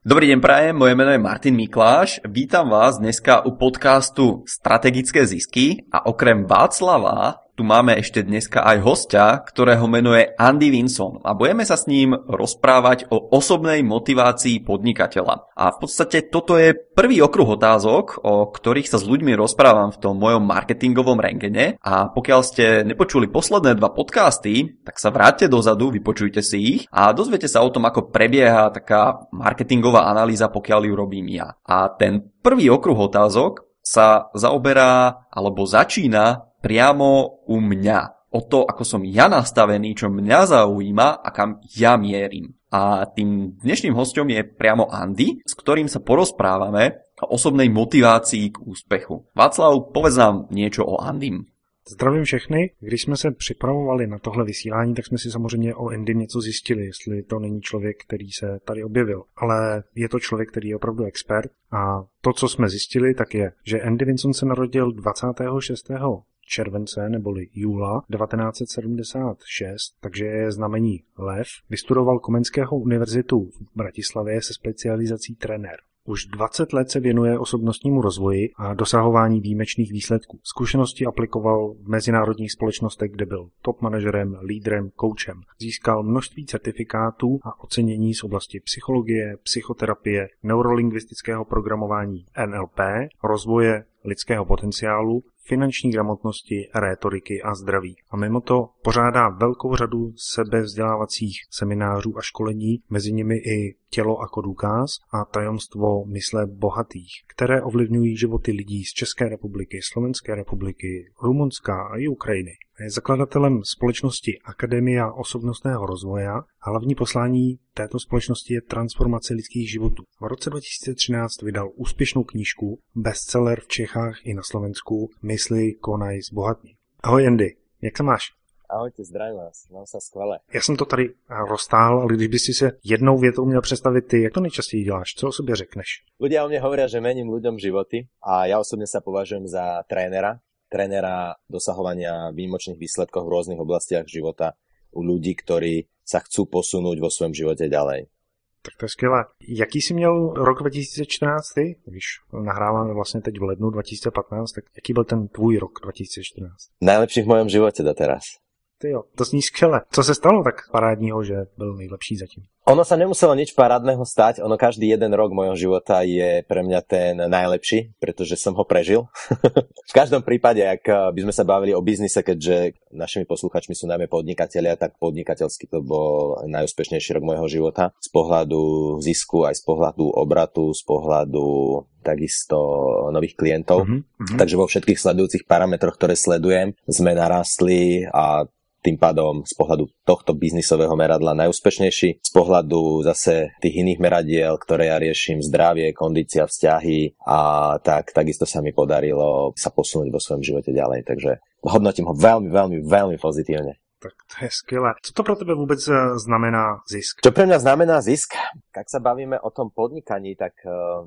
Dobrý deň prajem, moje meno je Martin Mikláš, vítam vás dneska u podcastu Strategické zisky a okrem Václava tu máme ešte dneska aj hostia, ktorého meno je Andy Vinson a budeme sa s ním rozprávať o osobnej motivácii podnikateľa. A v podstate toto je prvý okruh otázok, o ktorých sa s ľuďmi rozprávam v tom mojom marketingovom rentgene a pokiaľ ste nepočuli posledné 2 podcasty, tak sa vráťte dozadu, vypočujte si ich a dozviete sa o tom, ako prebieha taká marketingová analýza, pokiaľ ju robím ja. A ten prvý okruh otázok sa zaoberá alebo začína priamo u mňa. O to, ako som ja nastavený, čo mňa zaujíma a kam ja mierim. A tým dnešným hosťom je priamo Andy, s ktorým sa porozprávame o osobnej motivácii k úspechu. Václav, povedz nám niečo o Andym. Zdravím všechny. Když jsme se připravovali na tohle vysílání, tak jsme si samozřejmě o Andym něco zjistili, jestli to není člověk, který se tady objevil. Ale je to člověk, který je opravdu expert. A to, co jsme zjistili, tak je, že Andy Vinson se narodil 26. července neboli júla 1976, takže je znamení lev. Vystudoval Komenského univerzitu v Bratislavě se specializací trenér. Už 20 let se věnuje osobnostnímu rozvoji a dosahování výjimečných výsledků. Zkušenosti aplikoval v mezinárodních společnostech, kde byl top manažerem, lídrem, koučem. Získal množství certifikátů a ocenění z oblasti psychologie, psychoterapie, neurolingvistického programování NLP, rozvoje lidského potenciálu, finanční gramotnosti, rétoriky a zdraví. A mimo to pořádá velkou řadu sebevzdělávacích seminářů a školení, mezi nimi i Tělo jako důkaz a Tajemstvo mysle bohatých, které ovlivňují životy lidí z České republiky, Slovenské republiky, Rumunska a i Ukrajiny. Je zakladatelem společnosti Akademia osobnostného rozvoje a hlavní poslání této společnosti je transformace lidských životů. V roce 2013 vydal úspěšnou knížku, bestseller v Čechách i na Slovensku Mysli, konaj, zbohatni. Ahoj Andy, jak se máš? Ahojte, zdravím vás, mám sa skvelé. Já jsem to tady roztáhl, ale když by si se jednou větou měl představit ty, jak to nejčastěji děláš, co o sobě řekneš? Ľudia o mne hovoria, že mením ľuďom životy a ja osobne sa považujem za trénera dosahovania výjimočných výsledkov v rôznych oblastiach života u ľudí, ktorí sa chcú posunúť vo svojom živote ďalej. Tak to je skvělé. Jaký jsi měl rok 2014 ty? Když nahráváme vlastně teď v lednu 2015, tak jaký byl ten tvůj rok 2014? Najlepší v mojom živote doteraz. Ty jo, to zní skvěle. Co se stalo tak parádního, že byl nejlepší zatím? Ono sa nemuselo nič parádneho stať, ono každý jeden rok mojho života je pre mňa ten najlepší, pretože som ho prežil. V každom prípade, ak by sme sa bavili o biznise, keďže našimi posluchačmi sú najmä podnikatelia, tak podnikateľsky to bol najúspešnejší rok mojho života. Z pohľadu zisku, aj z pohľadu obratu, z pohľadu takisto nových klientov. Takže vo všetkých sledujúcich parametroch, ktoré sledujem, sme narastli a tým pádom z pohľadu tohto biznisového meradla najúspešnejší. Z pohľadu zase tých iných meradiel, ktoré ja riešim, zdravie, kondícia, vzťahy a takisto sa mi podarilo sa posunúť vo svojom živote ďalej. Takže hodnotím ho veľmi, veľmi, veľmi pozitívne. Tak to je skvělé. Co to pro tebe vůbec znamená zisk? Čo pre mňa znamená zisk? Ak sa bavíme o tom podnikaní, tak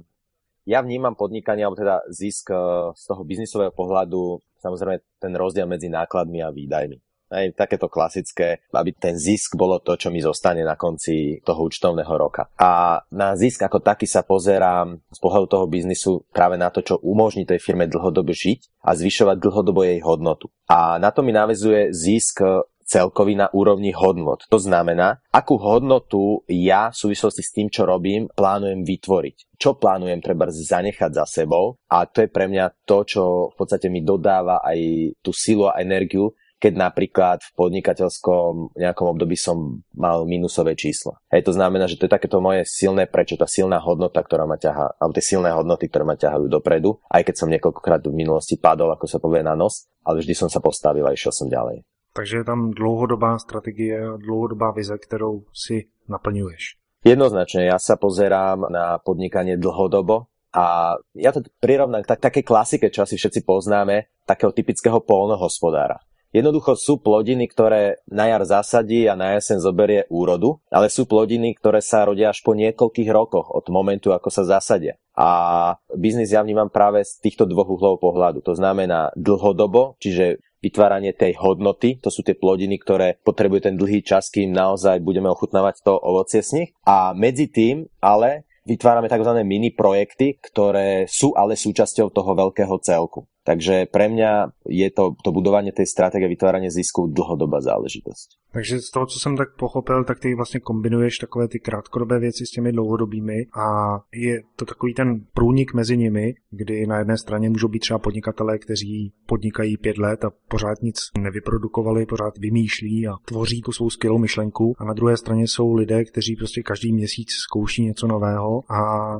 ja vnímam podnikanie, alebo teda zisk z toho biznisového pohľadu, samozrejme ten rozdiel medzi nákladmi a výdajmi. Aj takéto klasické, aby ten zisk bolo to, čo mi zostane na konci toho účtovného roka. A na zisk ako taký sa pozerám z pohľadu toho biznisu práve na to, čo umožní tej firme dlhodobo žiť a zvyšovať dlhodobo jej hodnotu. A na to mi naväzuje zisk celkový na úrovni hodnot. To znamená, akú hodnotu ja v súvislosti s tým, čo robím, plánujem vytvoriť. Čo plánujem treba zanechať za sebou a to je pre mňa to, čo v podstate mi dodáva aj tú silu a energiu, keď napríklad v podnikateľskom nejakom období som mal minusové číslo. Hej, to znamená, že to je takéto moje silné prečo, tá silná hodnota, ktorá ma ťahá, alebo tie silné hodnoty, ktoré ma ťahajú dopredu, aj keď som niekoľkokrát v minulosti padol, ako sa povie, na nos, ale vždy som sa postavil a išiel som ďalej. Takže je tam dlouhodobá strategie, dlouhodobá vize, ktorou si naplňuješ. Jednoznačne, ja sa pozerám na podnikanie dlhodobo a ja to prirovnám k takej klasike, čo asi všetci poznáme, takého typického poľnohospodára. Jednoducho sú plodiny, ktoré na jar zasadí a na jeseň zoberie úrodu, ale sú plodiny, ktoré sa rodia až po niekoľkých rokoch od momentu, ako sa zasadia. A biznis ja vnímam práve z týchto dvoch uhlov pohľadu. To znamená dlhodobo, čiže vytváranie tej hodnoty, to sú tie plodiny, ktoré potrebujú ten dlhý čas, kým naozaj budeme ochutnávať to ovocie z nich. A medzi tým ale vytvárame tzv. Mini projekty, ktoré sú ale súčasťou toho veľkého celku. Takže pre mňa je to budovanie tej stratégie, vytváranie zisku dlhodobá záležitosť. Takže z toho, co jsem tak pochopil, tak ty vlastně kombinuješ takové ty krátkodobé věci s těmi dlouhodobými a je to takový ten průnik mezi nimi, kdy na jedné straně můžou být třeba podnikatelé, kteří podnikají 5 let a pořád nic nevyprodukovali, pořád vymýšlí a tvoří tu svou skvělou myšlenku, a na druhé straně jsou lidé, kteří prostě každý měsíc zkouší něco nového, a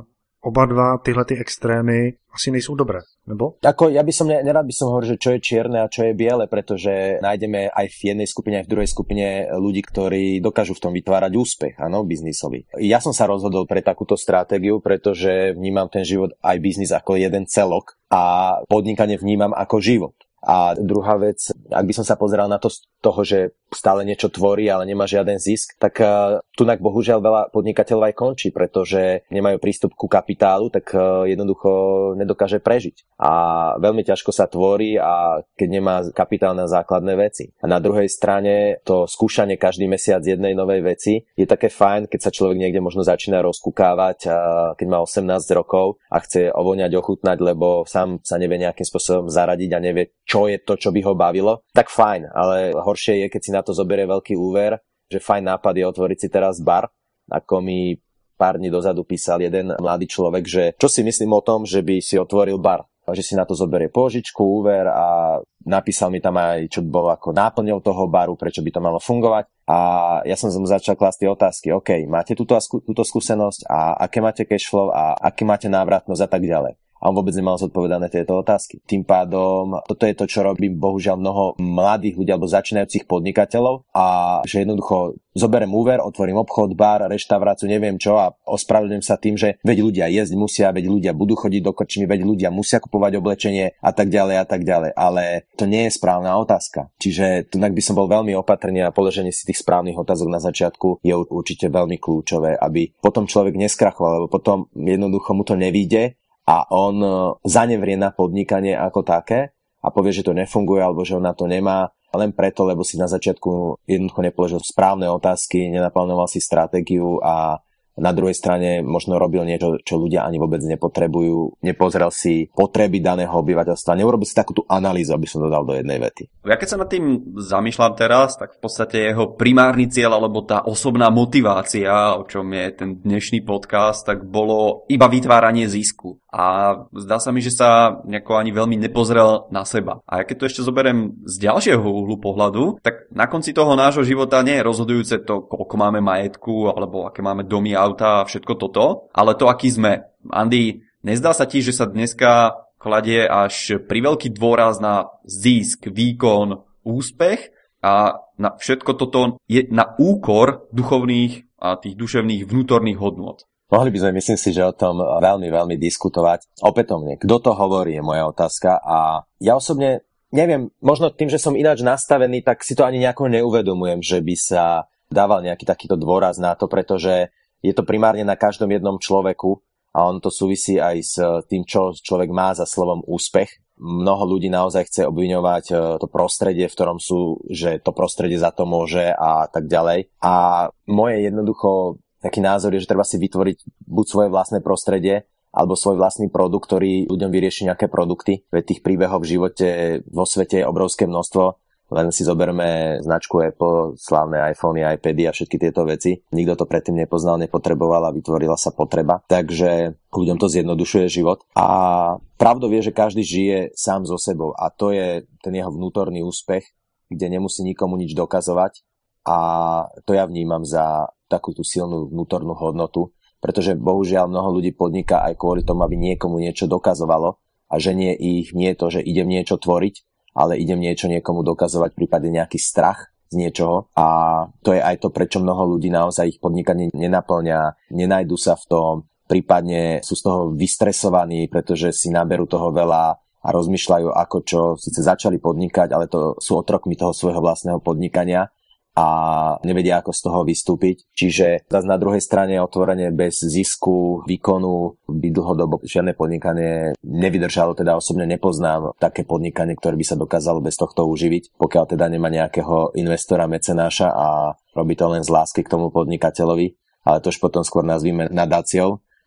oba dva tyhle ty extrémy asi nejsou dobré, nebo? Ako, ja by som nerad by som hovoril, že čo je čierne a čo je biele, pretože nájdeme aj v jednej skupine, aj v druhej skupine ľudí, ktorí dokážu v tom vytvárať úspech, áno, biznisový. Ja som sa rozhodol pre takúto stratégiu, pretože vnímam ten život aj biznis ako jeden celok a podnikanie vnímam ako život. A druhá vec, ak by som sa pozeral na to z toho, že stále niečo tvorí, ale nemá žiaden zisk, tak tunak bohužiaľ veľa podnikateľov aj končí, pretože nemajú prístup ku kapitálu, tak jednoducho nedokáže prežiť. A veľmi ťažko sa tvorí, a keď nemá kapitál na základné veci. A na druhej strane to skúšanie každý mesiac jednej novej veci je také fajn, keď sa človek niekde možno začína rozkúkávať, keď má 18 rokov a chce ovoňať, ochutnať, lebo sám sa nevie nejakým spôsobom zaradiť a nevie, čo je to, čo by ho bavilo, tak fajn, ale horšie je, keď si na to zoberie veľký úver, že fajn nápad je otvoriť si teraz bar, ako mi pár dní dozadu písal jeden mladý človek, že čo si myslím o tom, že by si otvoril bar, a že si na to zoberie pôžičku, úver, a napísal mi tam aj, čo bolo ako náplňou toho baru, prečo by to malo fungovať, a ja som mu začal klásť tie otázky, OK, máte túto skúsenosť a aké máte cashflow a aké máte návratnosť a tak ďalej. A on vôbec nemal zodpovedané tieto otázky. Tým pádom, toto je to, čo robí bohužiaľ mnoho mladých ľudí alebo začínajúcich podnikateľov, a že jednoducho zoberiem úver, otvorím obchod, bar, reštauráciu, neviem čo, a ospravedlňujem sa tým, že veď ľudia jesť musia, veď ľudia budú chodiť do krčmy, veď ľudia musia kupovať oblečenie a tak ďalej a tak ďalej. Ale to nie je správna otázka. Čiže tunak by som bol veľmi opatrný, a položenie si tých správnych otázok na začiatku je určite veľmi kľúčové, aby potom človek neskrachoval, lebo potom jednoducho mu to nevyjde a on zanevrie na podnikanie ako také a povie, že to nefunguje alebo že on na to nemá, len preto, lebo si na začiatku jednoducho nepoložil správne otázky, nenaplánoval si stratégiu a na druhej strane možno robil niečo, čo ľudia ani vôbec nepotrebujú, nepozrel si potreby daného obyvateľstva, neurobil si takú tú analýzu, aby som dodal do jednej vety. Ja keď sa nad tým zamýšľam teraz, tak v podstate jeho primárny cieľ alebo tá osobná motivácia, o čom je ten dnešný podcast, tak bolo iba vytváranie zisku. A zdá sa mi, že sa nejako ani veľmi nepozrel na seba. A ja keď to ešte zoberiem z ďalšieho uhlu pohľadu, tak na konci toho nášho života nie je rozhodujúce to, koľko máme majetku alebo aké máme domy, auta a všetko toto, ale to, aký sme. Andy, nezdá sa ti, že sa dneska kladie až priveľký dôraz na zisk, výkon, úspech a na všetko toto je na úkor duchovných a tých duševných vnútorných hodnôt? Mohli by sme, myslím si, že o tom veľmi, veľmi diskutovať. Opätovne, kto to hovorí, je moja otázka, a ja osobne neviem, možno tým, že som ináč nastavený, tak si to ani nejako neuvedomujem, že by sa dával nejaký takýto dôraz na to, pretože je to primárne na každom jednom človeku a on to súvisí aj s tým, čo človek má za slovom úspech. Mnoho ľudí naozaj chce obviňovať to prostredie, v ktorom sú, že to prostredie za to môže a tak ďalej. A moje jednoducho taký názor je, že treba si vytvoriť buď svoje vlastné prostredie, alebo svoj vlastný produkt, ktorý ľuďom vyrieši nejaké produkty. Veď tých príbehov v živote vo svete je obrovské množstvo. Len si zoberme značku Apple, slávne iPhony, iPady a všetky tieto veci. Nikto to predtým nepoznal, nepotreboval a vytvorila sa potreba. Takže ľuďom to zjednodušuje život. A pravdou je, že každý žije sám so sebou a to je ten jeho vnútorný úspech, kde nemusí nikomu nič dokazovať. A to ja vnímam za takú tú silnú vnútornú hodnotu, pretože bohužiaľ mnoho ľudí podniká aj kvôli tomu, aby niekomu niečo dokazovalo a že nie to, že idem niečo tvoriť, ale idem niečo niekomu dokazovať, prípadne nejaký strach z niečoho. A to je aj to, prečo mnoho ľudí naozaj ich podnikanie nenaplňa, nenajdu sa v tom, prípadne sú z toho vystresovaní, pretože si naberú toho veľa a rozmýšľajú, ako čo, síce začali podnikať, ale to sú otrokmi toho svojho vlastného podnikania a nevedia, ako z toho vystúpiť. Čiže zase na druhej strane otvorenie bez zisku, výkonu by dlhodobo žiadne podnikanie nevydržalo, teda osobne nepoznám také podnikanie, ktoré by sa dokázalo bez tohto uživiť, pokiaľ teda nemá nejakého investora, mecenáša a robí to len z lásky k tomu podnikateľovi, ale to už potom skôr nazvíme nadáciou.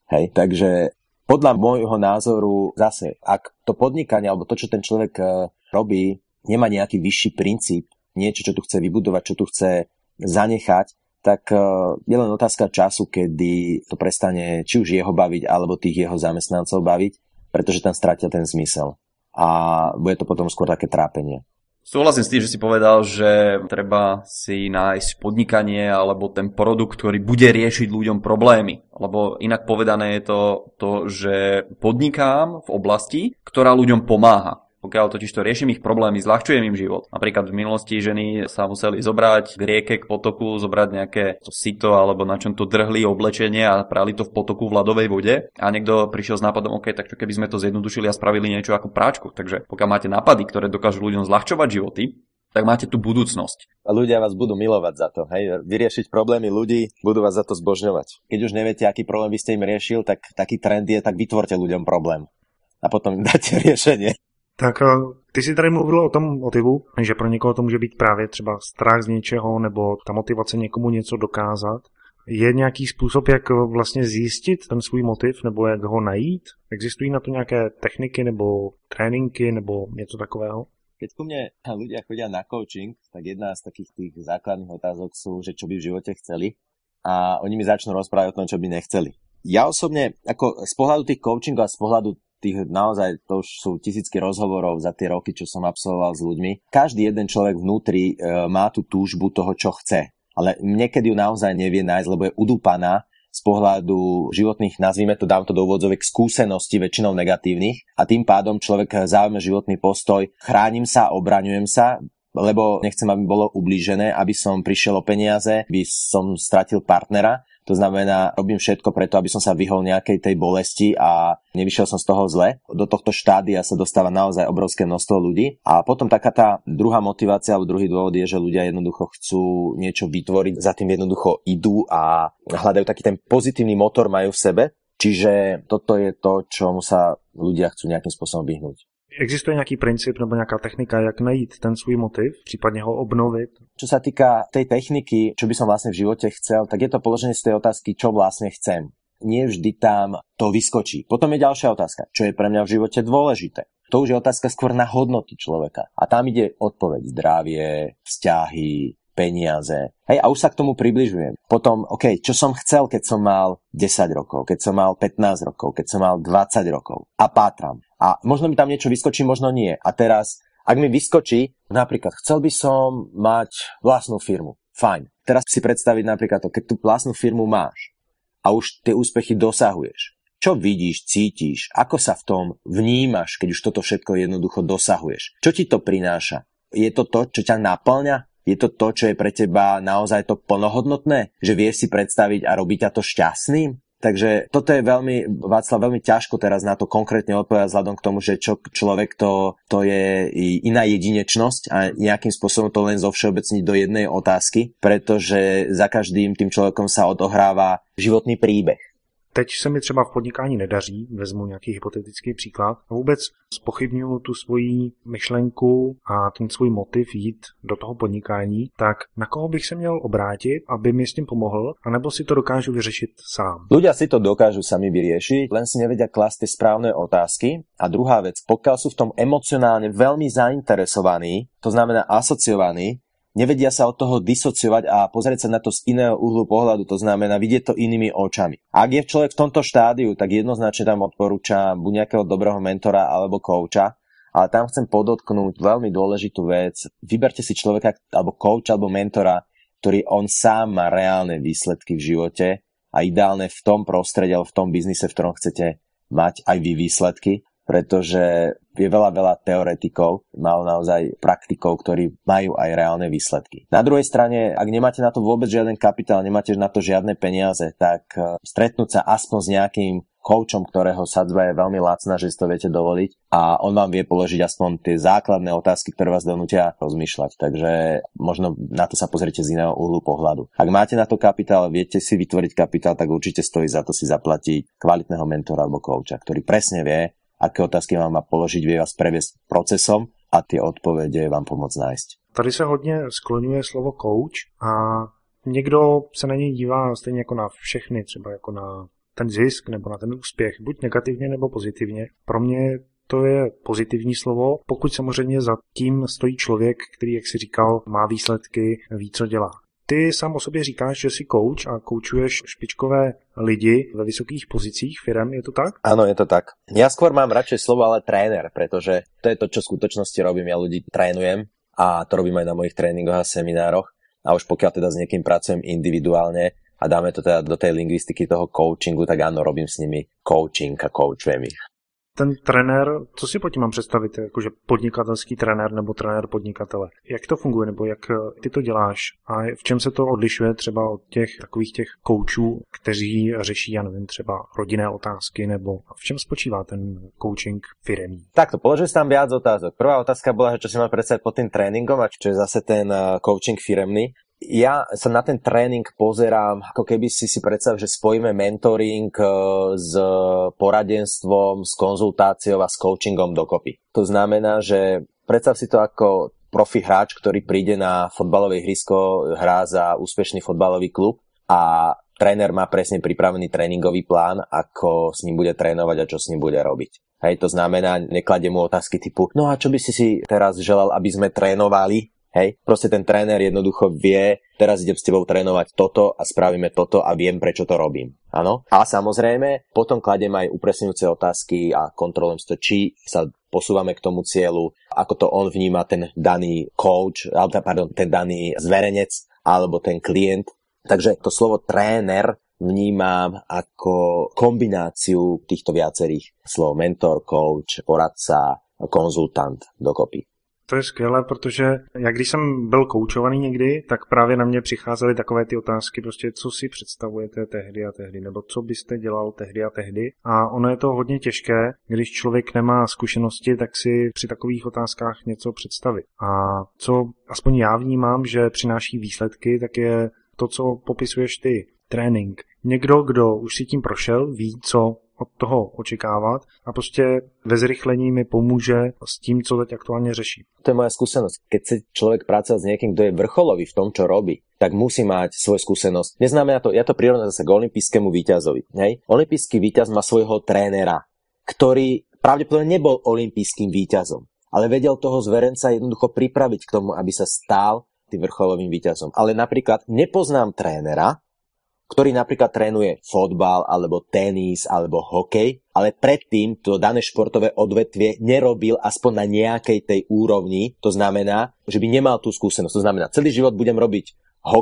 Hej, takže podľa môjho názoru zase, ak to podnikanie alebo to, čo ten človek robí, nemá nejaký vyšší princíp, niečo, čo tu chce vybudovať, čo tu chce zanechať, tak je len otázka času, kedy to prestane či už jeho baviť, alebo tých jeho zamestnancov baviť, pretože tam stratil ten zmysel. A bude to potom skôr také trápenie. Súhlasím s tým, že si povedal, že treba si nájsť podnikanie alebo ten produkt, ktorý bude riešiť ľuďom problémy. Lebo inak povedané je to, že podnikám v oblasti, ktorá ľuďom pomáha. Pokiaľ totiž to riešim ich problémy, zľahčujem im život. Napríklad v minulosti ženy sa museli zobrať k rieke, k potoku, zobrať nejaké to sito alebo na čom to drhli oblečenie a prali to v potoku v ľadovej vode. A niekto prišiel s nápadom, OK, tak čo keby sme to zjednodušili a spravili niečo ako práčku. Takže pokiaľ máte nápady, ktoré dokážu ľuďom zľahčovať životy, tak máte tú budúcnosť. A ľudia vás budú milovať za to. Hej? Vyriešiť problémy ľudí, budú vás za to zbožňovať. Keď už neviete, aký problém by ste im riešil, tak taký trend je, tak vytvorte ľuďom problém. A potom im dáte riešenie. Tak ty si tady mluvil o tom motivu, že pro někoho to může být právě třeba strach z něčeho nebo ta motivace někomu něco dokázat. Je nějaký způsob, jak vlastně zjistit ten svůj motiv nebo jak ho najít? Existují na to nějaké techniky nebo tréninky nebo něco takového? Keď ku mne ľudia chodia na coaching, tak jedna z takých tých základných otázok sú, že čo by v živote chceli a oni mi začnú rozprávať o tom, čo by nechceli. Ja osobne, ako z pohľadu tých coachingov a z pohľadu tých naozaj, to už sú tisícky rozhovorov za tie roky, čo som absolvoval s ľuďmi, každý jeden človek vnútri má tú túžbu toho, čo chce. Ale niekedy ju naozaj nevie nájsť, lebo je udúpaná z pohľadu životných, nazvime to, dám to do úvodzovek, skúseností, väčšinou negatívnych a tým pádom človek zaujme životný postoj, chránim sa, obraňujem sa, lebo nechcem, aby bolo ublížené, aby som prišiel o peniaze, aby som stratil partnera. To znamená, robím všetko preto, aby som sa vyhol nejakej tej bolesti a nevyšiel som z toho zle. Do tohto štádia sa dostáva naozaj obrovské množstvo ľudí. A potom taká tá druhá motivácia alebo druhý dôvod je, že ľudia jednoducho chcú niečo vytvoriť, za tým jednoducho idú a hľadajú taký ten pozitívny motor majú v sebe. Čiže toto je to, čomu sa ľudia chcú nejakým spôsobom vyhnúť. Existuje nějaký princip nebo nějaká technika, jak najít ten svůj motiv, případně ho obnovit? Čo sa týka tej techniky, čo by som vlastne v živote chcel, tak je to položenie z tej otázky, čo vlastne chcem. Nie vždy tam to vyskočí. Potom je ďalšia otázka, čo je pre mňa v živote dôležité. To už je otázka skôr na hodnoty človeka. A tam ide odpoveď zdravie, vzťahy, peniaze. Hej, a už sa k tomu približujem. Potom, OK, čo som chcel, keď som mal 10 rokov, keď som mal 15 rokov, keď som mal 20 rokov. A pátram. A možno mi tam niečo vyskočí, možno nie. A teraz, ak mi vyskočí, napríklad, chcel by som mať vlastnú firmu. Fajn. Teraz si predstaviť napríklad to, keď tú vlastnú firmu máš a už tie úspechy dosahuješ. Čo vidíš, cítiš, ako sa v tom vnímaš, keď už toto všetko jednoducho dosahuješ? Čo ti to prináša? Je to to, čo ťa naplňa? Je to to, čo je pre teba naozaj to plnohodnotné? Že vieš si predstaviť a robí ťa to šťastným? Takže toto je veľmi ťažko teraz na to konkrétne odpovedať vzhľadom k tomu, že čo človek to je iná jedinečnosť a nejakým spôsobom to len zovšeobecniť do jednej otázky, pretože za každým tým človekom sa odohráva životný príbeh. Teď se mi třeba v podnikání nedaří, vezmu nějaký hypotetický příklad, a vůbec zpochybňuju tu svoji myšlenku a ten svůj motiv jít do toho podnikání, tak na koho bych se měl obrátit, aby mi s tím pomohl, anebo si to dokážu vyřešit sám? Ľudia si to dokážu sami vyriešiť, len si nevedia klásť tie správne otázky. A druhá vec, pokiaľ sú v tom emocionálne veľmi zainteresovaní, to znamená asociovaní, nevedia sa od toho disociovať a pozrieť sa na to z iného uhlu pohľadu, to znamená vidieť to inými očami. Ak je človek v tomto štádiu, tak jednoznačne tam odporúčam buď nejakého dobrého mentora alebo kouča, ale tam chcem podotknúť veľmi dôležitú vec. Vyberte si človeka alebo kouča alebo mentora, ktorý on sám má reálne výsledky v živote a ideálne v tom prostredí alebo v tom biznise, v ktorom chcete mať aj vy výsledky, pretože je veľa teoretikov, naozaj praktikov, ktorí majú aj reálne výsledky. Na druhej strane, ak nemáte na to vôbec žiaden kapitál, nemáte na to žiadne peniaze, tak stretnúť sa aspoň s nejakým koučom, ktorého sadzba je veľmi lacná, že si to viete dovoliť a on vám vie položiť aspoň tie základné otázky, ktoré vás donútia rozmýšľať. Takže možno na to sa pozrite z iného uhlu pohľadu. Ak máte na to kapitál, viete si vytvoriť kapitál, tak určite stojí za to si zaplatiť kvalitného mentora alebo kouča, ktorý presne vie, aké otázky vám má položiť, vie vás previesť procesom a tie odpovede vám pomôcť nájsť. Tady se hodně skloňuje slovo coach a někdo se na něj dívá stejně jako na všechny, třeba jako na ten zisk nebo na ten úspěch, buď negativně nebo pozitivně. Pro mě to je pozitivní slovo, pokud samozřejmě za tím stojí člověk, který, jak si říkal, má výsledky, ví, co dělá. Ty sám o sobě říkáš, že jsi coach a koučuješ špičkové lidi ve vysokých pozicích firem, je to tak? Áno, je to tak. Ja skôr mám radšej slovo, ale tréner, pretože to je to, čo v skutočnosti robím. Ja ľudí trénujem a to robím aj na mojich tréningoch a seminároch. A už pokiaľ teda s niekým pracujem individuálne a dáme to teda do tej lingvistiky toho coachingu, tak áno, robím s nimi coaching a coachujem ich. Ten trenér, co si pod tím mám představit, jakože podnikatelský trenér nebo trenér podnikatele? Jak to funguje, nebo jak ty to děláš? A v čem se to odlišuje třeba od těch takových těch koučů, kteří řeší, já nevím, třeba rodinné otázky, nebo v čem spočívá ten coaching firemní? Takto, položil si tam viac otázok. Prvá otázka bola, že čo si mám predstaviť pod tým tréningom a čo je zase ten coaching firemný. Ja sa na ten tréning pozerám, ako keby si predstav, že spojíme mentoring s poradenstvom, s konzultáciou a s coachingom dokopy. To znamená, že predstav si to ako profi hráč, ktorý príde na fotbalové ihrisko, hrá za úspešný fotbalový klub a tréner má presne pripravený tréningový plán, ako s ním bude trénovať a čo s ním bude robiť. Hej, to znamená, nekladie mu otázky typu, no a čo by si teraz želal, aby sme trénovali? Hej, proste ten tréner jednoducho vie, teraz idem s tebou trénovať toto a spravíme toto a viem, prečo to robím. Áno? A samozrejme, potom kladiem aj upresňujúce otázky a kontrolujem to, či sa posúvame k tomu cieľu, ako to on vníma ten daný coach, ten daný zverenec alebo ten klient. Takže to slovo tréner vnímam ako kombináciu týchto viacerých slov. Mentor, coach, poradca, konzultant dokopy. To je skvělé, protože já když jsem byl koučovaný někdy, tak právě na mě přicházely takové ty otázky, prostě co si představujete tehdy a tehdy, nebo co byste dělal tehdy a tehdy. A ono je to hodně těžké, když člověk nemá zkušenosti, tak si při takových otázkách něco představit. A co aspoň já vnímám, že přináší výsledky, tak je to, co popisuješ ty, trénink. Někdo, kdo už si tím prošel, ví, co od toho očekávat a prostě ve zrychlení mi pomůže s tím, co teď aktuálně řeší. To je moja skúsenosť. Keď chce človek pracovať s niekým, kto je vrcholový v tom, čo robí, tak musí mať svoju skúsenosť. Neznamená to, ja to prirovnám zase k olympijskému víťazovi. Hej? Olympijský víťaz má svojho trénera, ktorý pravdepodobne nebol olympijským víťazom, ale vedel toho zverenca jednoducho pripraviť k tomu, aby sa stal tým vrcholovým víťazom. Ale napríklad nepoznám trénera, ktorý napríklad trénuje fotbal, alebo tenis, alebo hokej, ale predtým to dané športové odvetvie nerobil aspoň na nejakej tej úrovni. To znamená, že by nemal tú skúsenosť. To znamená, celý život budem robiť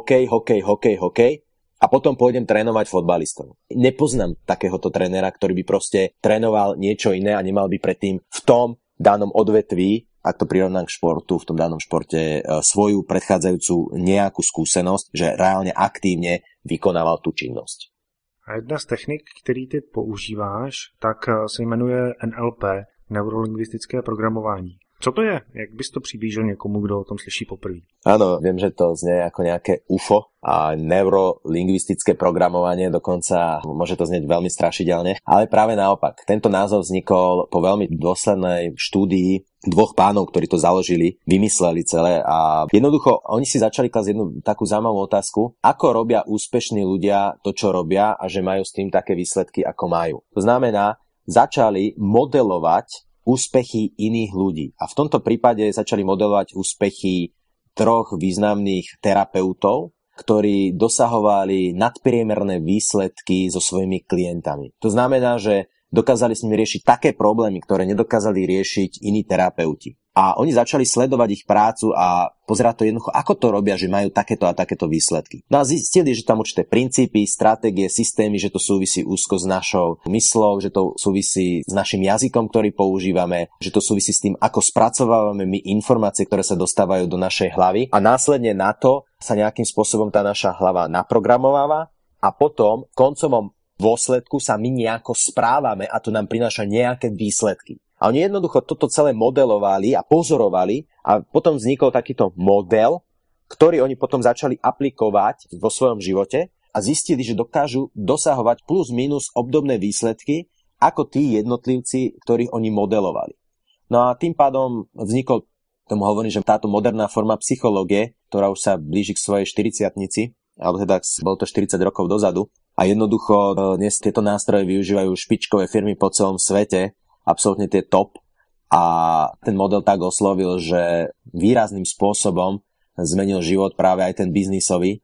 hokej a potom pôjdem trénovať fotbalistov. Nepoznám takéhoto trénera, ktorý by proste trénoval niečo iné a nemal by predtým v tom danom odvetví, ak to prirovnám k športu, v tom danom športe svoju predchádzajúcu nejakú skúsenosť, že reálne aktívne vykonával tú činnosť. A jedna z technik, který ty používáš, tak se jmenuje NLP, neurolingvistické programování. Co to je? Jak bys to přiblížil někomu, kdo o tom slyší poprvé? Áno, viem, že to znie ako nejaké UFO a neurolingvistické programovanie, dokonca môže to znieť veľmi strašidelne, ale práve naopak. Tento názov vznikol po veľmi dôslednej štúdii dvoch pánov, ktorí to založili, vymysleli celé a jednoducho oni si začali klásť jednu takú zaujímavú otázku, ako robia úspešní ľudia to, čo robia a že majú s tým také výsledky, ako majú. To znamená, začali modelovať úspechy iných ľudí. A v tomto prípade začali modelovať úspechy troch významných terapeutov, ktorí dosahovali nadpriemerné výsledky so svojimi klientami. To znamená, že dokázali s nimi riešiť také problémy, ktoré nedokázali riešiť iní terapeuti. A oni začali sledovať ich prácu a pozerať to jednoducho, ako to robia, že majú takéto a takéto výsledky. No a zistili, že tam určité princípy, stratégie, systémy, že to súvisí úzko s našou myslou, že to súvisí s našim jazykom, ktorý používame, že to súvisí s tým, ako spracovávame my informácie, ktoré sa dostávajú do našej hlavy. A následne na to sa nejakým spôsobom tá naša hlava naprogramováva a potom v koncovom dôsledku sa my nejako správame a to nám prináša nejaké výsledky. A oni jednoducho toto celé modelovali a pozorovali a potom vznikol takýto model, ktorý oni potom začali aplikovať vo svojom živote a zistili, že dokážu dosahovať plus minus obdobné výsledky ako tí jednotlivci, ktorých oni modelovali. No a tým pádom vznikol, tomu hovorím, že táto moderná forma psychológie, ktorá už sa blíži k svojej 40-tnici, alebo teda bolo to 40 rokov dozadu. A A jednoducho dnes tieto nástroje využívajú špičkové firmy po celom svete, absolútne tie top. A ten model tak oslovil, že výrazným spôsobom zmenil život práve aj ten biznisový.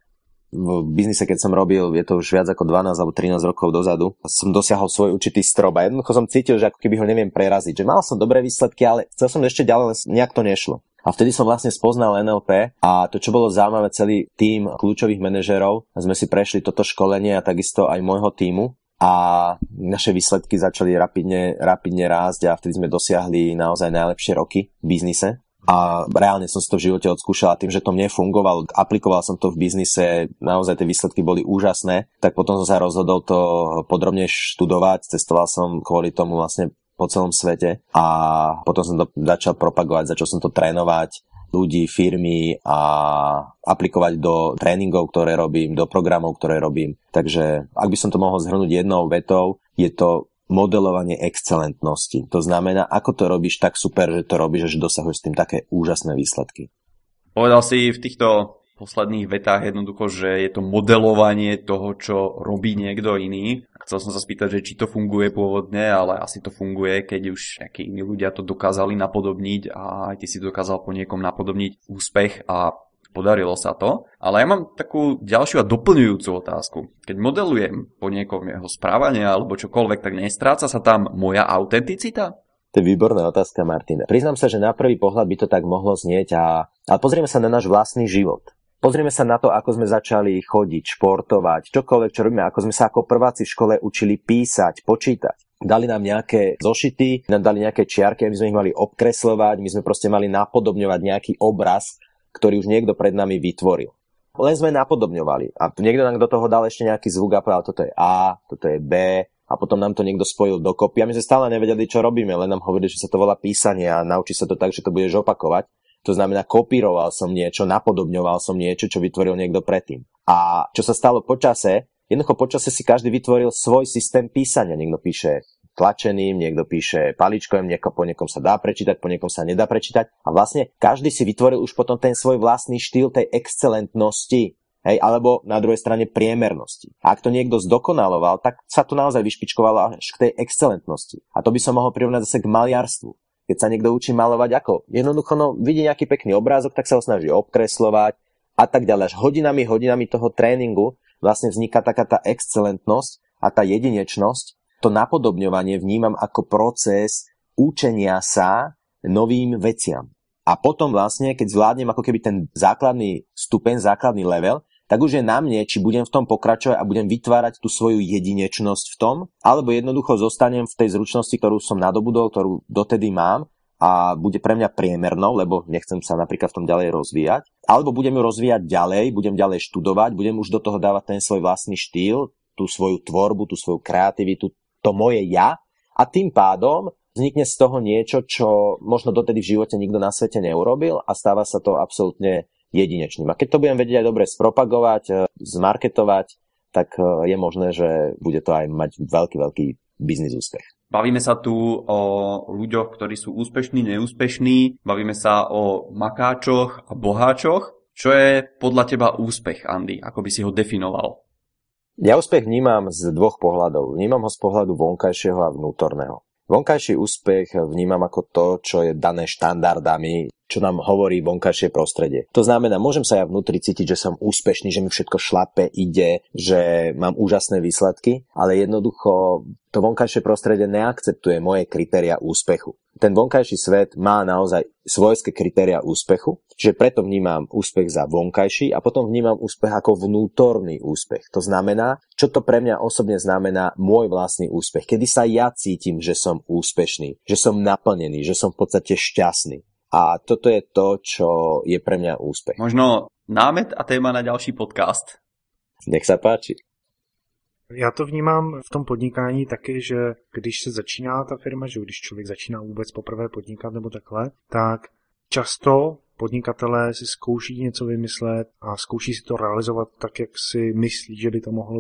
V biznise, keď som robil, je to už viac ako 12 alebo 13 rokov dozadu, som dosiahol svoj určitý strop a jednoducho som cítil, že ako keby ho neviem preraziť. Že mal som dobré výsledky, ale chcel som ešte ďalej, len nejak to nešlo. A vtedy som vlastne spoznal NLP a to, čo bolo zaujímavé, celý tím kľúčových manažérov, sme si prešli toto školenie a takisto aj môjho tímu. A naše výsledky začali rapidne rásť a vtedy sme dosiahli naozaj najlepšie roky v biznise. A reálne som si to v živote odskúšal a tým, že to mne fungovalo, aplikoval som to v biznise, naozaj tie výsledky boli úžasné, tak potom som sa rozhodol to podrobne študovať, cestoval som kvôli tomu vlastne po celom svete a potom som to začal propagovať, začal som to trénovať ľudí, firmy a aplikovať do tréningov, ktoré robím, do programov, ktoré robím. Takže ak by som to mohol zhrnúť jednou vetou, je to modelovanie excelentnosti. To znamená, ako to robíš tak super, že to robíš, že dosahuješ s tým také úžasné výsledky. Povedal si v týchto posledných vetách jednoducho, že je to modelovanie toho, čo robí niekto iný. Chcel som sa spýtať, že či to funguje pôvodne, ale asi to funguje, keď už nejakí iní ľudia to dokázali napodobniť a aj ty si dokázal po niekom napodobniť úspech a podarilo sa to. Ale ja mám takú ďalšiu a doplňujúcu otázku. Keď modelujem po niekom jeho správanie alebo čokoľvek, tak nestráca sa tam moja autenticita? To je výborná otázka, Martin. Priznám sa, že na prvý pohľad by to tak mohlo znieť, ale pozrieme sa na náš vlastný život. Pozrieme sa na to, ako sme začali chodiť, športovať, čokoľvek, čo robíme, ako sme sa ako prváci v škole učili písať, počítať. Dali nám nejaké zošity, nám dali nejaké čiarky, my sme ich mali obkresľovať, my sme proste mali napodobňovať nejaký obraz, ktorý už niekto pred nami vytvoril. Len sme napodobňovali a niekto nám do toho dal ešte nejaký zvuk a povedal, toto je A, toto je B a potom nám to niekto spojil dokopy a my sme stále nevedeli, čo robíme, len nám hovorili, že sa to volá písanie a naučí sa to tak, že to budeš opakovať. To znamená, kopíroval som niečo, napodobňoval som niečo, čo vytvoril niekto predtým. A čo sa stalo počase, jednoducho počase si každý vytvoril svoj systém písania. Niekto píše tlačeným, niekto píše paličkovým, po niekom sa dá prečítať, po niekom sa nedá prečítať. A vlastne každý si vytvoril už potom ten svoj vlastný štýl tej excelentnosti, hej, alebo na druhej strane priemernosti. A ak to niekto zdokonaloval, tak sa to naozaj vyšpičkovalo až k tej excelentnosti. A to by som mohol prirovnať zase k maliarstvu. Keď sa niekto učí malovať ako? Jednoducho, vidí nejaký pekný obrázok, tak sa ho snaží obkresľovať a tak ďalej. Až hodinami toho tréningu vlastne vzniká taká tá excelentnosť a tá jedinečnosť. To napodobňovanie vnímam ako proces učenia sa novým veciam. A potom vlastne, keď zvládnem ako keby ten základný stupeň, základný level, tak už je na mne, či budem v tom pokračovať a budem vytvárať tú svoju jedinečnosť v tom, alebo jednoducho zostanem v tej zručnosti, ktorú som nadobudol, ktorú dotedy mám a bude pre mňa priemernou, lebo nechcem sa napríklad v tom ďalej rozvíjať, alebo budem ju rozvíjať ďalej, budem ďalej študovať, budem už do toho dávať ten svoj vlastný štýl, tú svoju tvorbu, tú svoju kreativitu, to moje ja a tým pádom vznikne z toho niečo, čo možno dotedy v živote nikto na svete neurobil a stáva sa to absolútne jedinečným. A keď to budem vedieť aj dobre spropagovať, zmarketovať, tak je možné, že bude to aj mať veľký biznis úspech. Bavíme sa tu o ľuďoch, ktorí sú úspešní, neúspešní. Bavíme sa o makáčoch a boháčoch. Čo je podľa teba úspech, Andy? Ako by si ho definoval? Ja úspech vnímam z dvoch pohľadov. Vnímam ho z pohľadu vonkajšieho a vnútorného. Vonkajší úspech vnímam ako to, čo je dané štandardami, čo nám hovorí vonkajšie prostredie. To znamená, môžem sa ja vnútri cítiť, že som úspešný, že mi všetko šlape, ide, že mám úžasné výsledky, ale jednoducho to vonkajšie prostredie neakceptuje moje kritériá úspechu. Ten vonkajší svet má naozaj svojské kritériá úspechu, čiže preto vnímam úspech za vonkajší a potom vnímam úspech ako vnútorný úspech. To znamená, čo to pre mňa osobne znamená môj vlastný úspech. Kedy sa ja cítim, že som úspešný, že som naplnený, že som v podstate šťastný. A toto je to, čo je pre mňa úspech. Možno námet a téma na ďalší podcast. Nech sa páči. Já to vnímám v tom podnikání taky, že když se začíná ta firma, že když člověk začíná vůbec poprvé podnikat nebo takhle, tak často podnikatelé si zkouší něco vymyslet a zkouší si to realizovat tak, jak si myslí, že by to mohlo být.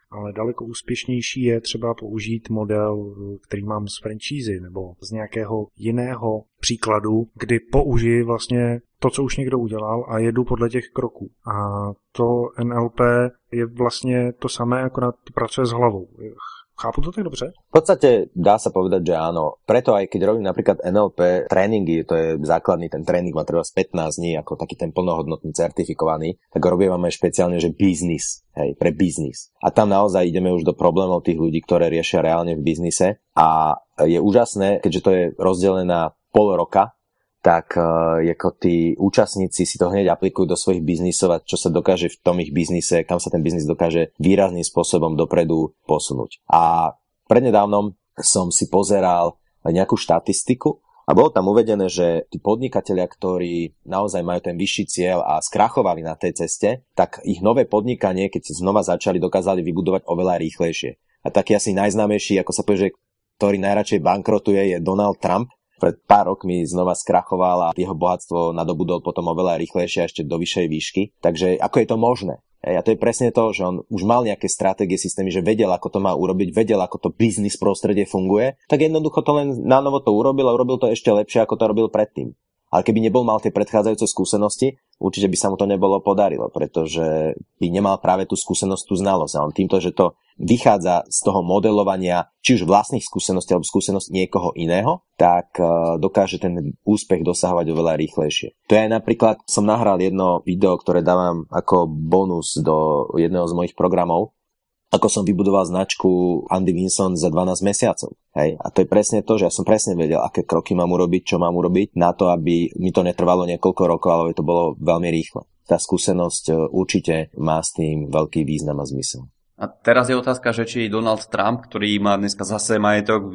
ale daleko úspěšnější je třeba použít model, který mám z franšízy nebo z nějakého jiného příkladu, kdy použiji vlastně to, co už někdo udělal a jedu podle těch kroků. A to NLP je vlastně to samé, akorát pracuje s hlavou. Chápu to tak dobře? V podstate dá sa povedať, že áno. Preto aj keď robím napríklad NLP tréningy, to je základný, ten tréning má treba 15 dní, ako taký ten plnohodnotný certifikovaný, tak robíme špeciálne, že biznis, hej, pre biznis. A tam naozaj ideme už do problémov tých ľudí, ktoré riešia reálne v biznise. A je úžasné, keďže to je rozdelené na pol roka, tak ako tí účastníci si to hneď aplikujú do svojich biznisov a čo sa dokáže v tom ich biznise, kam sa ten biznis dokáže výrazným spôsobom dopredu posunúť. A prednedávnom som si pozeral nejakú štatistiku a bolo tam uvedené, že tí podnikatelia, ktorí naozaj majú ten vyšší cieľ a skrachovali na tej ceste, tak ich nové podnikanie, keď znova začali, dokázali vybudovať oveľa rýchlejšie. A taký asi najznámejší, ako sa povie, že ktorý najradšej bankrotuje, je Donald Trump. Pred pár rokmi znova skrachoval a jeho bohatstvo nadobudol potom oveľa rýchlejšie a ešte do vyššej výšky. Takže ako je to možné? A to je presne to, že on už mal nejaké stratégie, systémy, že vedel, ako to má urobiť, vedel, ako to biznis prostredie funguje, tak jednoducho to len nanovo to urobil a urobil to ešte lepšie, ako to robil predtým. Ale keby nebol mal tie predchádzajúce skúsenosti, určite by sa mu to nebolo podarilo, pretože by nemal práve tú skúsenosť, tú znalosť. A on týmto, že to vychádza z toho modelovania, či už vlastných skúseností alebo skúseností niekoho iného, tak dokáže ten úspech dosahovať oveľa rýchlejšie. To je napríklad, som nahral jedno video, ktoré dávam ako bonus do jedného z mojich programov, ako som vybudoval značku Andy Vinson za 12 mesiacov. Hej? A to je presne to, že ja som presne vedel, aké kroky mám urobiť, čo mám urobiť, na to, aby mi to netrvalo niekoľko rokov, ale to bolo veľmi rýchlo. Tá skúsenosť určite má s tým veľký význam a zmysel. A teraz je otázka, že či Donald Trump, ktorý má dneska zase majetok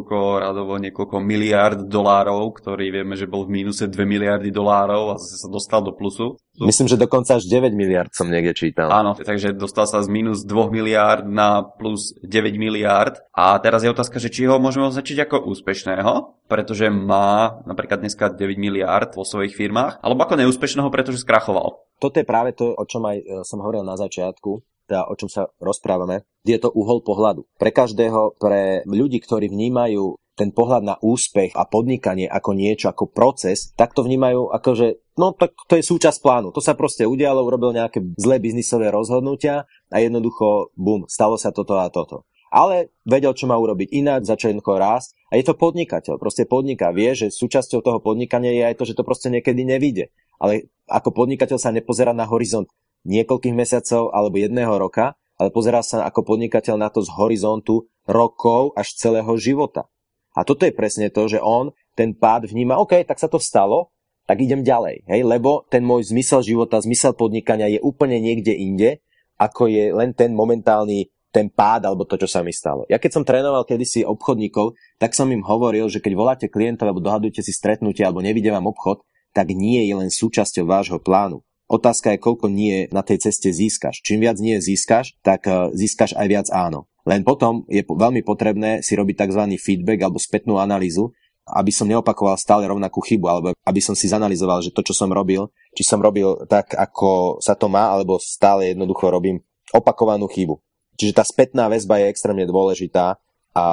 niekoľko miliárd dolárov, ktorý vieme, že bol v mínuse 2 miliardy dolárov a zase sa dostal do plusu. Myslím, že dokonca až 9 miliárd som niekde čítal. Áno, takže dostal sa z mínus 2 miliárd na plus 9 miliárd. A teraz je otázka, že či ho môžeme označiť ako úspešného, pretože má napríklad dneska 9 miliárd vo svojich firmách, alebo ako neúspešného, pretože skrachoval. Toto je práve to, o čom aj som hovoril na začiatku, teda o čom sa rozprávame, je to uhol pohľadu. Pre každého, pre ľudí, ktorí vnímajú ten pohľad na úspech a podnikanie ako niečo, ako proces, tak to vnímajú ako, že no tak to je súčasť plánu. To sa proste udialo, urobil nejaké zlé biznisové rozhodnutia a jednoducho, bum, stalo sa toto a toto. Ale vedel, čo má urobiť ináč, začal jednoducho rásť a je to podnikateľ. Proste podniká, vie, že súčasťou toho podnikania je aj to, že to proste niekedy nevyjde. Ale ako podnikateľ sa nepozerá na horizont niekoľkých mesiacov alebo jedného roka, ale pozerá sa ako podnikateľ na to z horizontu rokov až celého života. A toto je presne to, že on ten pád vníma, OK, tak sa to stalo, tak idem ďalej, hej, lebo ten môj zmysel života, zmysel podnikania je úplne niekde inde, ako je len ten momentálny ten pád alebo to, čo sa mi stalo. Ja keď som trénoval kedysi obchodníkov, tak som im hovoril, že keď voláte klientov alebo dohadujete si stretnutie alebo nevidie vám obchod, tak nie je len súčasťou vášho plánu. Otázka je, koľko nie na tej ceste získaš. Čím viac nie získaš, tak získaš aj viac áno. Len potom je veľmi potrebné si robiť tzv. Feedback alebo spätnú analýzu, aby som neopakoval stále rovnakú chybu, alebo aby som si zanalizoval, že to, čo som robil, či som robil tak, ako sa to má, alebo stále jednoducho robím opakovanú chybu. Čiže tá spätná väzba je extrémne dôležitá a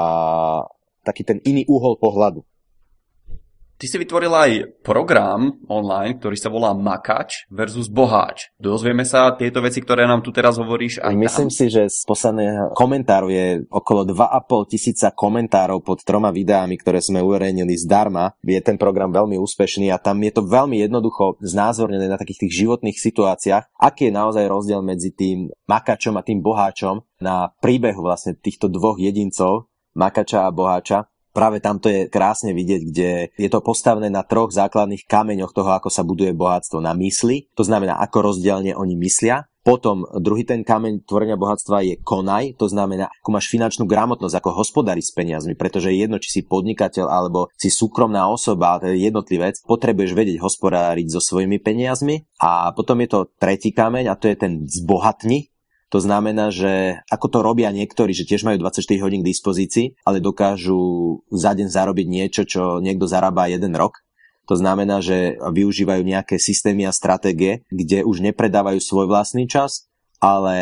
taký ten iný uhol pohľadu. Ty si vytvoril aj program online, ktorý sa volá Makač versus Boháč. Dozvieme sa tieto veci, ktoré nám tu teraz hovoríš aj Myslím si, že z posledného komentáru je okolo 2,5 tisíca komentárov pod 3 videami, ktoré sme uverejnili zdarma. Je ten program veľmi úspešný a tam je to veľmi jednoducho znázornené na takých tých životných situáciách, aký je naozaj rozdiel medzi tým Makačom a tým Boháčom na príbehu vlastne týchto dvoch jedincov, Makača a Boháča. Práve tam to je krásne vidieť, kde je to postavené na 3 základných kameňoch toho, ako sa buduje bohatstvo. Na mysli, to znamená, ako rozdielne oni myslia. Potom druhý ten kameň tvorenia bohatstva je konaj, to znamená, ako máš finančnú gramotnosť, ako hospodári s peniazmi, pretože je jedno, či si podnikateľ alebo si súkromná osoba, to je jednotlivec, potrebuješ vedieť hospodáriť so svojimi peniazmi. A potom je to tretí kameň a to je ten zbohatni. To znamená, že ako to robia niektorí, že tiež majú 24 hodín k dispozícii, ale dokážu za deň zarobiť niečo, čo niekto zarába 1 rok. To znamená, že využívajú nejaké systémy a stratégie, kde už nepredávajú svoj vlastný čas, ale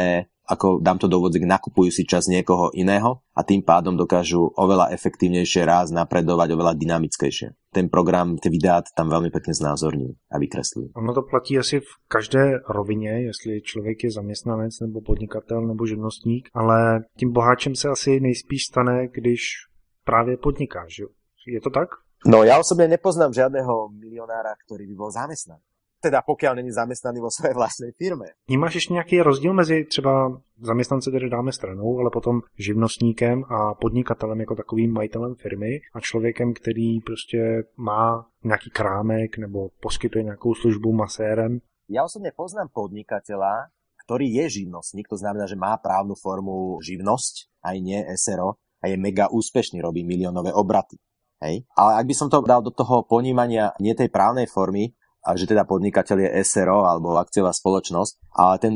ako dám to do úvodziek, nakupujú si čas niekoho iného a tým pádom dokážu oveľa efektívnejšie rásť, napredovať, oveľa dynamickejšie. Ten program, ty videá tam veľmi pekne znázorní a vykreslí. Ono to platí asi v každé rovině, jestli člověk je zaměstnanec nebo podnikatel nebo živnostník, ale tím boháčem se asi nejspíš stane, když právě podniká, že? Je to tak? No ja osobne nepoznám žiadneho milionára, ktorý by bol zamestnaný. Teda pokiaľ není zamestnaný vo svojej vlastnej firme. Vnímáš ještě nějaký rozdíl mezi třeba zaměstnance, tedy dáme stranou, ale potom živnostníkem a podnikatelem jako takovým majitelem firmy a člověkem, který prostě má nějaký krámek nebo poskytuje nějakou službu masérem? Ja osobne poznám podnikateľa, ktorý je živnostník, to znamená, že má právnu formu živnosť, aj nie SRO, a je mega úspešný, robí miliónové obraty. Hej? Ale ak by som to dal do toho ponímania nie tej právnej formy, a že teda podnikateľ je SRO alebo akciová spoločnosť, ale ten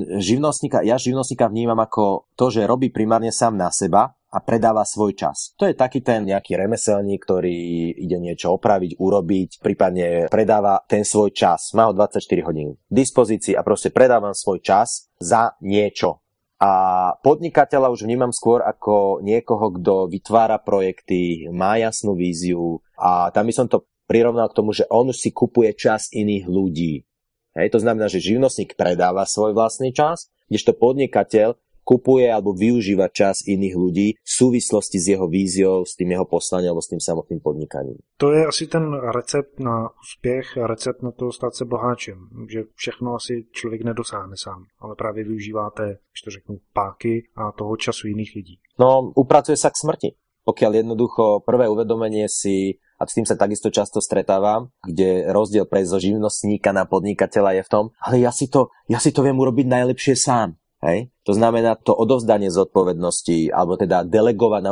ja živnostníka vnímam ako to, že robí primárne sám na seba a predáva svoj čas. To je taký ten nejaký remeselník, ktorý ide niečo opraviť, urobiť, prípadne predáva ten svoj čas. Má ho 24 hodín k dispozícii a proste predávam svoj čas za niečo. A podnikateľa už vnímam skôr ako niekoho, kto vytvára projekty, má jasnú víziu a tam by som to prirovnal k tomu, že on si kupuje čas iných ľudí. Hej, to znamená, že živnostník predáva svoj vlastný čas, kdežto podnikateľ kupuje alebo využíva čas iných ľudí v súvislosti s jeho víziou, s tým jeho poslaním alebo s tým samotným podnikaním. To je asi ten recept na úspěch, recept na to stát se boháčem, že všechno asi člověk nedosáhne sám, ale právě využíváte, když to řeknu, páky a toho času jiných lidí. No, upracuje sa k smrti. Pokiaľ jednoducho prvé uvedomenie si, a s tým sa takisto často stretávam, kde rozdiel prejsť zo živnostníka na podnikateľa je v tom, ale ja si to viem urobiť najlepšie sám. Hej? To znamená to odovzdanie zodpovednosti, alebo teda delegovať,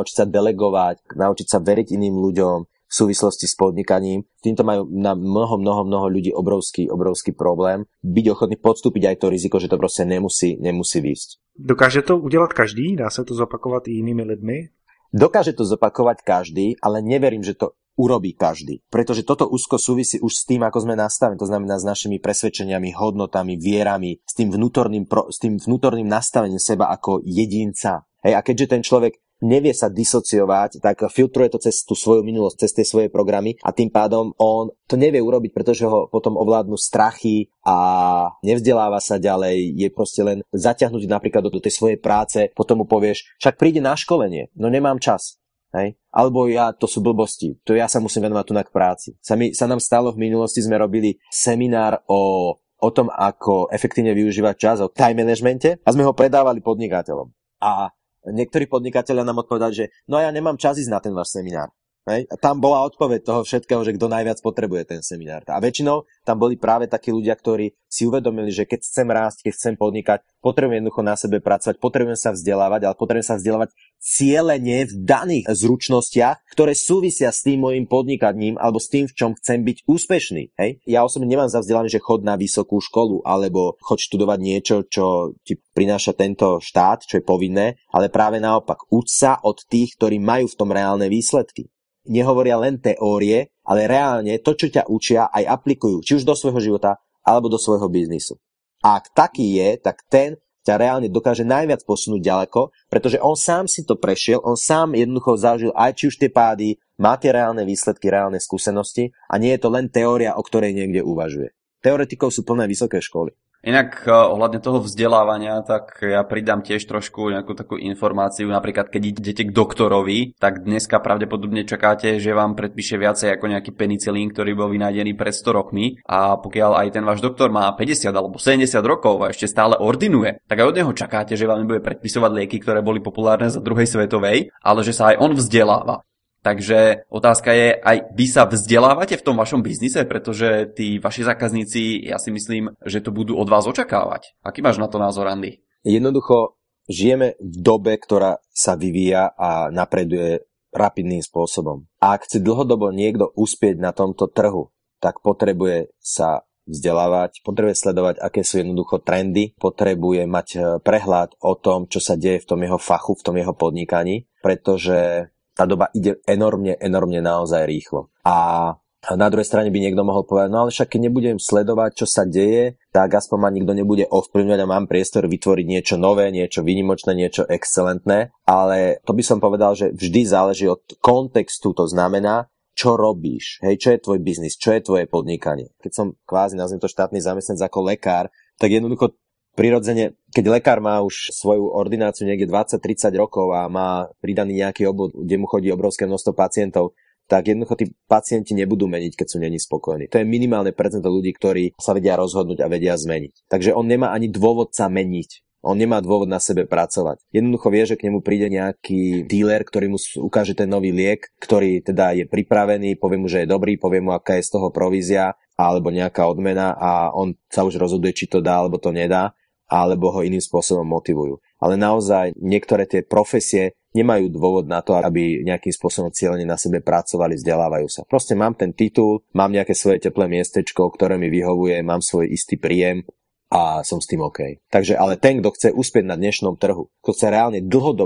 naučiť sa veriť iným ľuďom v súvislosti s podnikaním. Týmto majú na mnoho ľudí obrovský problém. Byť ochotný podstúpiť aj to riziko, že to proste nemusí výjsť. Dokáže to udělat každý? Dá se to zopakovat i jinými lidmi? Dokáže to zopakovať každý, ale neverím, že to urobí každý. Pretože toto úzko súvisí už s tým, ako sme nastavení, to znamená s našimi presvedčeniami, hodnotami, vierami, s tým vnútorným nastavením seba ako jedinca. Hej, a keďže ten človek nevie sa disociovať, tak filtruje to cez tú svoju minulosť, cez tie svoje programy a tým pádom on to nevie urobiť, pretože ho potom ovládnu strachy a nevzdeláva sa ďalej, je proste len zaťahnutý napríklad do tej svojej práce, potom mu povieš, však príde na školenie, no nemám čas. Hej? Alebo to sú blbosti, to ja sa musím venovať tu na k práci. Sa nám stalo v minulosti, sme robili seminár o tom, ako efektívne využívať čas, o time managemente a sme ho predávali podnikateľom. A niektorí podnikatelia nám odpovedali, že no ja nemám čas ísť na ten váš seminár. Hej? A tam bola odpoveď toho všetkého, že kto najviac potrebuje ten seminár. A väčšinou tam boli práve takí ľudia, ktorí si uvedomili, že keď chcem rásť, keď chcem podnikať, potrebujem jednoducho na sebe pracovať, potrebujem sa vzdelávať, ale potrebujem sa vzdelávať cielene v daných zručnostiach, ktoré súvisia s tým mojím podnikaním alebo s tým, v čom chcem byť úspešný. Hej? Ja osobne nemám za vzdelanie, že chod na vysokú školu alebo chod študovať niečo, čo ti prináša tento štát, čo je povinné, ale práve naopak, uč sa od tých, ktorí majú v tom reálne výsledky. Nehovoria len teórie, ale reálne to, čo ťa učia, aj aplikujú, či už do svojho života, alebo do svojho biznisu. A ak taký je, tak ten ťa reálne dokáže najviac posunúť ďaleko, pretože on sám si to prešiel, on sám jednoducho zažil aj či už tie pády, má tie reálne výsledky, reálne skúsenosti a nie je to len teória, o ktorej niekde uvažuje. Teoretikov sú plné vysoké školy. Inak ohľadne toho vzdelávania, tak ja pridám tiež trošku nejakú takú informáciu. Napríklad, keď idete k doktorovi, tak dneska pravdepodobne čakáte, že vám predpíše viacej ako nejaký penicilín, ktorý bol vynájdený pred 100 rokmi. A pokiaľ aj ten váš doktor má 50 alebo 70 rokov a ešte stále ordinuje, tak aj od neho čakáte, že vám nebude predpisovať lieky, ktoré boli populárne za druhej svetovej, ale že sa aj on vzdeláva. Takže otázka je, aj vy sa vzdelávate v tom vašom biznise, pretože tí vaši zákazníci, ja si myslím, že to budú od vás očakávať. Aký máš na to názor, Andy? Jednoducho, žijeme v dobe, ktorá sa vyvíja a napreduje rapidným spôsobom. A ak chce dlhodobo niekto uspieť na tomto trhu, tak potrebuje sa vzdelávať, potrebuje sledovať, aké sú jednoducho trendy, potrebuje mať prehľad o tom, čo sa deje v tom jeho fachu, v tom jeho podnikaní, pretože tá doba ide enormne naozaj rýchlo. A A na druhej strane by niekto mohol povedať, no ale však keď nebudem sledovať, čo sa deje, tak aspoň ma nikto nebude ovplyvňovať a mám priestor vytvoriť niečo nové, niečo výnimočné, niečo excelentné. Ale to by som povedal, že vždy záleží od kontextu, to znamená, čo robíš, hej, čo je tvoj biznis, čo je tvoje podnikanie. Keď som kvázi, nazvem to štátny zamestnanec ako lekár, tak jednoducho prirodzene, keď lekár má už svoju ordináciu niekde 20-30 rokov a má pridaný nejaký obvod, kde mu chodí obrovské množstvo pacientov, tak jednoducho tí pacienti nebudú meniť, keď sú není spokojní. To je minimálne percento ľudí, ktorí sa vedia rozhodnúť a vedia zmeniť. Takže on nemá ani dôvod sa meniť. On nemá dôvod na sebe pracovať. Jednoducho vie, že k nemu príde nejaký dealer, ktorý mu ukáže ten nový liek, ktorý teda je pripravený, povie mu, že je dobrý, povie mu, aká je z toho provízia alebo nejaká odmena a on sa už rozhoduje, či to dá alebo to nedá, alebo ho iným spôsobom motivujú. Ale naozaj niektoré tie profesie nemajú dôvod na to, aby nejakým spôsobom cieľene na sebe pracovali, vzdelávajú sa. Proste mám ten titul, mám nejaké svoje teplé miestečko, ktoré mi vyhovuje, mám svoj istý príjem a som s tým OK. Takže ale ten, kto chce uspieť na dnešnom trhu, kto chce reálne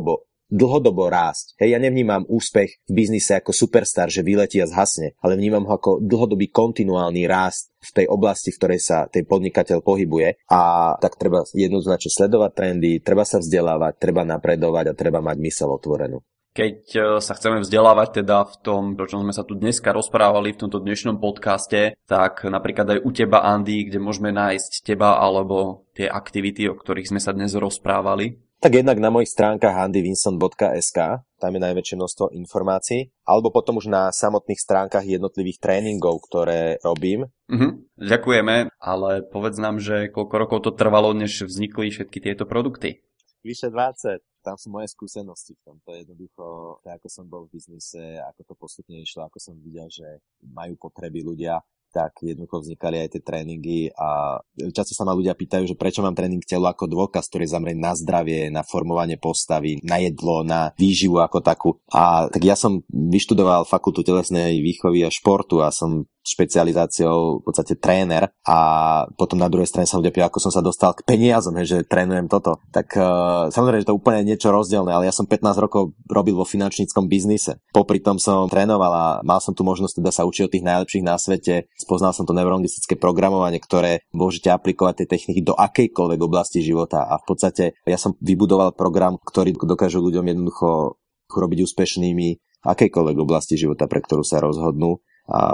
dlhodobo rásť. Hej, ja nevnímam úspech v biznise ako superstar, že vyletí a zhasne, ale vnímam ho ako dlhodobý kontinuálny rást v tej oblasti, v ktorej sa ten podnikateľ pohybuje a tak treba jednoznačne sledovať trendy, treba sa vzdelávať, treba napredovať a treba mať myseľ otvorenú. Keď sa chceme vzdelávať teda v tom, o čom sme sa tu dneska rozprávali v tomto dnešnom podcaste, tak napríklad aj u teba, Andy, kde môžeme nájsť teba alebo tie aktivity, o ktorých sme sa dnes rozprávali? Tak jednak na mojich stránkach andyvinson.sk, tam je najväčšie množstvo informácií, alebo potom už na samotných stránkach jednotlivých tréningov, ktoré robím. Ďakujeme, ale povedz nám, že koľko rokov to trvalo, než vznikli všetky tieto produkty? Vyše 20. Tam sú moje skúsenosti v tomto jednoducho, tak ako som bol v biznise, ako to postupne išlo, ako som videl, že majú potreby ľudia, tak jednoducho vznikali aj tie tréningy a často sa ma ľudia pýtajú, že prečo mám tréning telo ako dôkaz, ktorý je zameraný na zdravie, na formovanie postavy, na jedlo, na výživu ako takú. A tak ja som vyštudoval fakultu telesnej výchovy a športu a som špecializáciou v podstate tréner a potom na druhej strane sa ľudia pýtajú, ako som sa dostal k peniazom, že trénujem toto. Tak samozrejme, že to úplne niečo rozdielne, ale ja som 15 rokov robil vo finančníckom biznise. Popri tom som trénoval a mal som tu možnosť teda sa učiť od tých najlepších na svete. Spoznal som to neurolingvistické programovanie, ktoré môžete aplikovať tie techniky do akejkoľvek oblasti života a v podstate ja som vybudoval program, ktorý dokáže ľuďom jednoducho robiť úspešnými v akejkoľvek oblasti života, pre ktorú sa rozhodnú.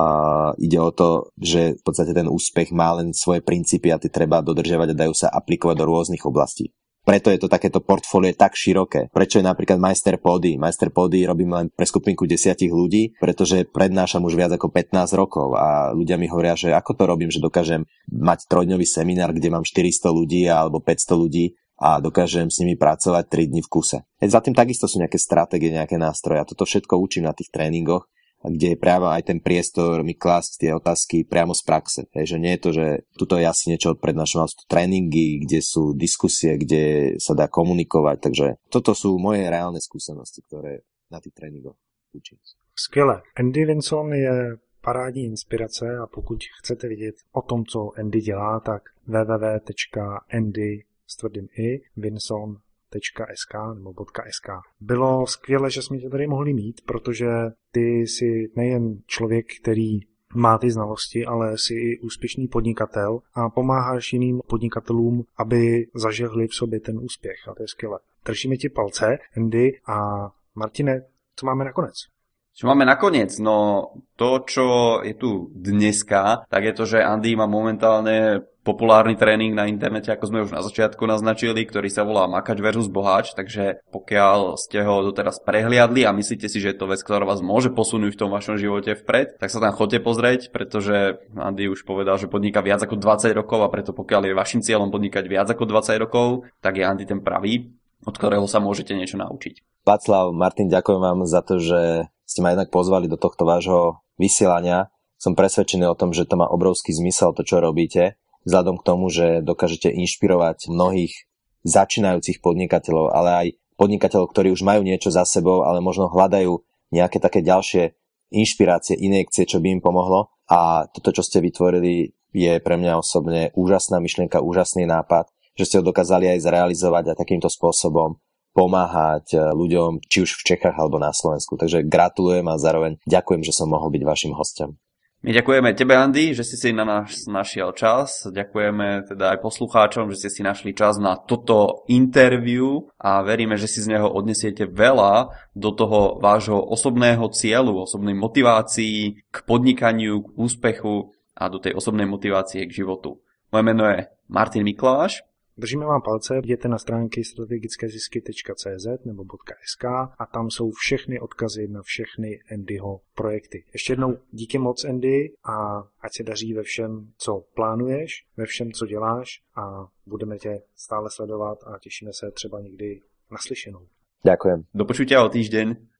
A ide o to, že v podstate ten úspech má len svoje princípy a tie treba dodržiavať a dajú sa aplikovať do rôznych oblastí. Preto je to takéto portfólio tak široké. Prečo je napríklad Majster Pódy? Majster Pódy robím len pre skupinku 10 ľudí, pretože prednášam už viac ako 15 rokov a ľudia mi hovoria, že ako to robím, že dokážem mať 3-dňový seminár, kde mám 400 ľudí alebo 500 ľudí a dokážem s nimi pracovať 3 dni v kuse. Za tým takisto sú nejaké stratégie, nejaké nástroje a toto všetko učím na tých tréningoch, kde je práve aj ten priestor mi klásť tie otázky priamo z praxe. Že nie je to, že tuto ja si niečo odprednášam, sú tréningy, kde sú diskusie, kde sa dá komunikovať. Takže toto sú moje reálne skúsenosti, ktoré na tých tréningoch učím. Skvěle. Andy Vinson je parádní inspirace a pokud chcete vidět o tom, co Andy dělá, tak www.andy.vinson.sk nebo .sk. Bylo skvěle, že jsme tě tady mohli mít, protože ty jsi nejen člověk, který má ty znalosti, ale jsi i úspěšný podnikatel a pomáháš jiným podnikatelům, aby zažehli v sobě ten úspěch a to je skvěle. Držíme ti palce, Andy, a Martine, co máme nakonec? Čo máme nakoniec? No to, čo je tu dneska, tak je to, že Andy má momentálne populárny tréning na internete, ako sme už na začiatku naznačili, ktorý sa volá Makač versus Boháč, takže pokiaľ ste ho doteraz prehliadli a myslíte si, že je to vec, ktorá vás môže posunúť v tom vašom živote vpred, tak sa tam choďte pozrieť, pretože Andy už povedal, že podniká viac ako 20 rokov a preto pokiaľ je vašim cieľom podnikať viac ako 20 rokov, tak je Andy ten pravý, od ktorého sa môžete niečo naučiť. Václav, Martin, ďakujem vám za to, že ste ma jednak pozvali do tohto vášho vysielania. Som presvedčený o tom, že to má obrovský zmysel, to, čo robíte, vzhľadom k tomu, že dokážete inšpirovať mnohých začínajúcich podnikateľov, ale aj podnikateľov, ktorí už majú niečo za sebou, ale možno hľadajú nejaké také ďalšie inšpirácie, injekcie, čo by im pomohlo. A toto, čo ste vytvorili, je pre mňa osobne úžasná myšlienka, úžasný nápad, že ste ho dokázali aj zrealizovať a takýmto spôsobom pomáhať ľuďom, či už v Čechách alebo na Slovensku. Takže gratulujem a zároveň ďakujem, že som mohol byť vašim hosťom. My ďakujeme tebe, Andy, že si na nás našiel čas. Ďakujeme teda aj poslucháčom, že ste si našli čas na toto interview a veríme, že si z neho odnesiete veľa do toho vášho osobného cieľu, osobnej motivácii k podnikaniu, k úspechu a do tej osobnej motivácie k životu. Moje meno je Martin Mikláš. Držíme vám palce, jděte na stránky strategickézisky.cz nebo .sk a tam jsou všechny odkazy na všechny Andyho projekty. Ještě jednou díky moc, Andy, a ať se daří ve všem, co plánuješ, ve všem, co děláš a budeme tě stále sledovat a těšíme se třeba někdy naslyšenou. Ďakujem. Do počutia o týždeň.